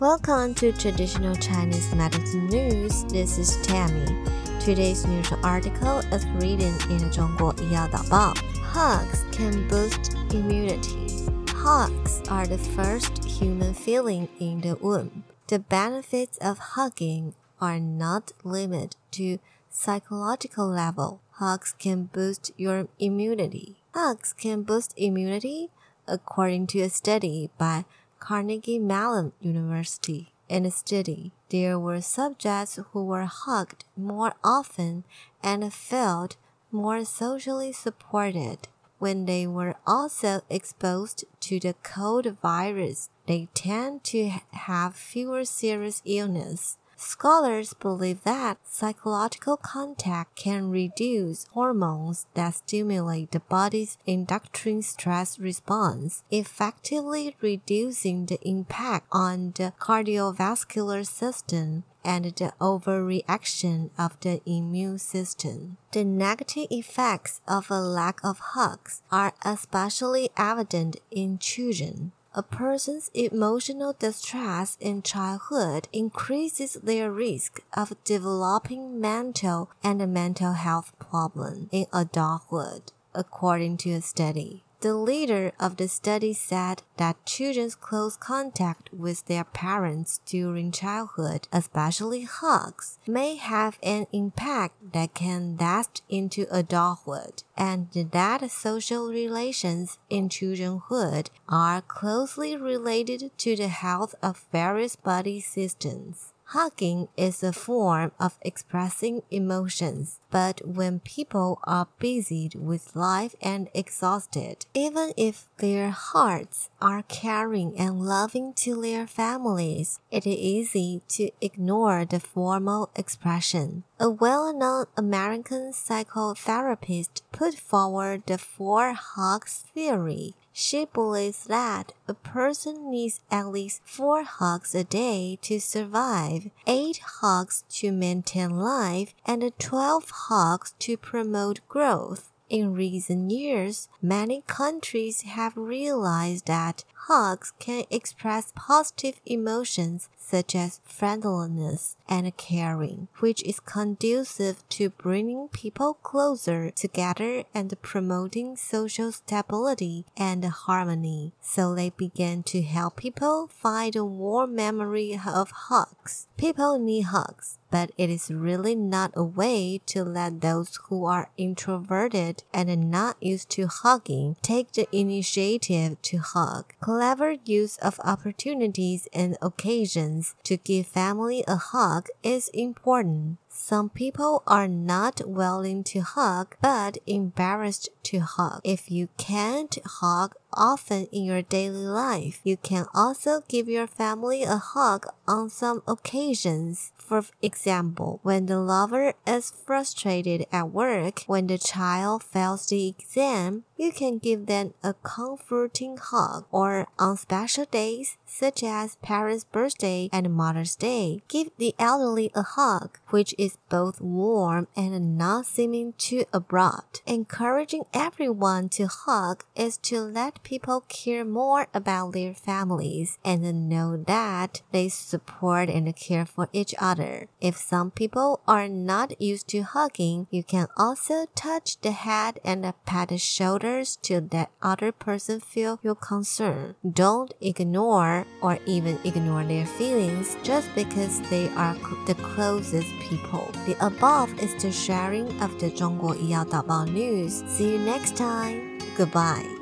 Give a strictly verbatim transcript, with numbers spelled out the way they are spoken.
Welcome to Traditional Chinese Medicine News. This is Tammy. Today's news article is written in the 中国医药导报. Hugs can boost immunity. Hugs are the first human feeling in the womb. The benefits of hugging are not limited to psychological level. Hugs can boost your immunity. Hugs can boost immunity, according to a study by Carnegie Mellon University. In the study, there were subjects who were hugged more often and felt more socially supported. When they were also exposed to the cold virus, they tend to have fewer serious illness. Scholars believe that psychological contact can reduce hormones that stimulate the body's endocrine stress response, effectively reducing the impact on the cardiovascular system and the overreaction of the immune system. The negative effects of a lack of hugs are especially evident in children. A person's emotional distress in childhood increases their risk of developing mental and mental health problems in adulthood, according to a study. The leader of the study said that children's close contact with their parents during childhood, especially hugs, may have an impact that can last into adulthood, and that social relations in childhood are closely related to the health of various body systems. Hugging is a form of expressing emotions, but when people are busied with life and exhausted, even if their hearts are caring and loving to their families, it is easy to ignore the formal expression. A well-known American psychotherapist put forward the four hugs theory. She believes that a person needs at least four hugs a day to survive, eight hugs to maintain life, and twelve hugs to promote growth. In recent years, many countries have realized that hugs can express positive emotions such as friendliness and caring, which is conducive to bringing people closer together and promoting social stability and harmony. So they began to help people find a warm memory of hugs. People need hugs, but it is really not a way to let those who are introverted and not used to hugging take the initiative to hug. Clever use of opportunities and occasions to give family a hug is important. Some people are not willing to hug but embarrassed to hug. If you can't hug often in your daily life, you can also give your family a hug on some occasions. For example, when the lover is frustrated at work, when the child fails the exam, you can give them a comforting hug. Or on special days, such as parents' birthday and Mother's Day, give the elderly a hug, which is both warm and not seeming too abrupt. Encouraging everyone to hug is to let people care more about their families and know that they support and care for each other. If some people are not used to hugging, you can also touch the head and pat the shoulders to let other person feel your concern. Don't ignore or even ignore their feelings just because they are the closest people. The above is the sharing of the 中国医药导报 news. See you next time. Goodbye.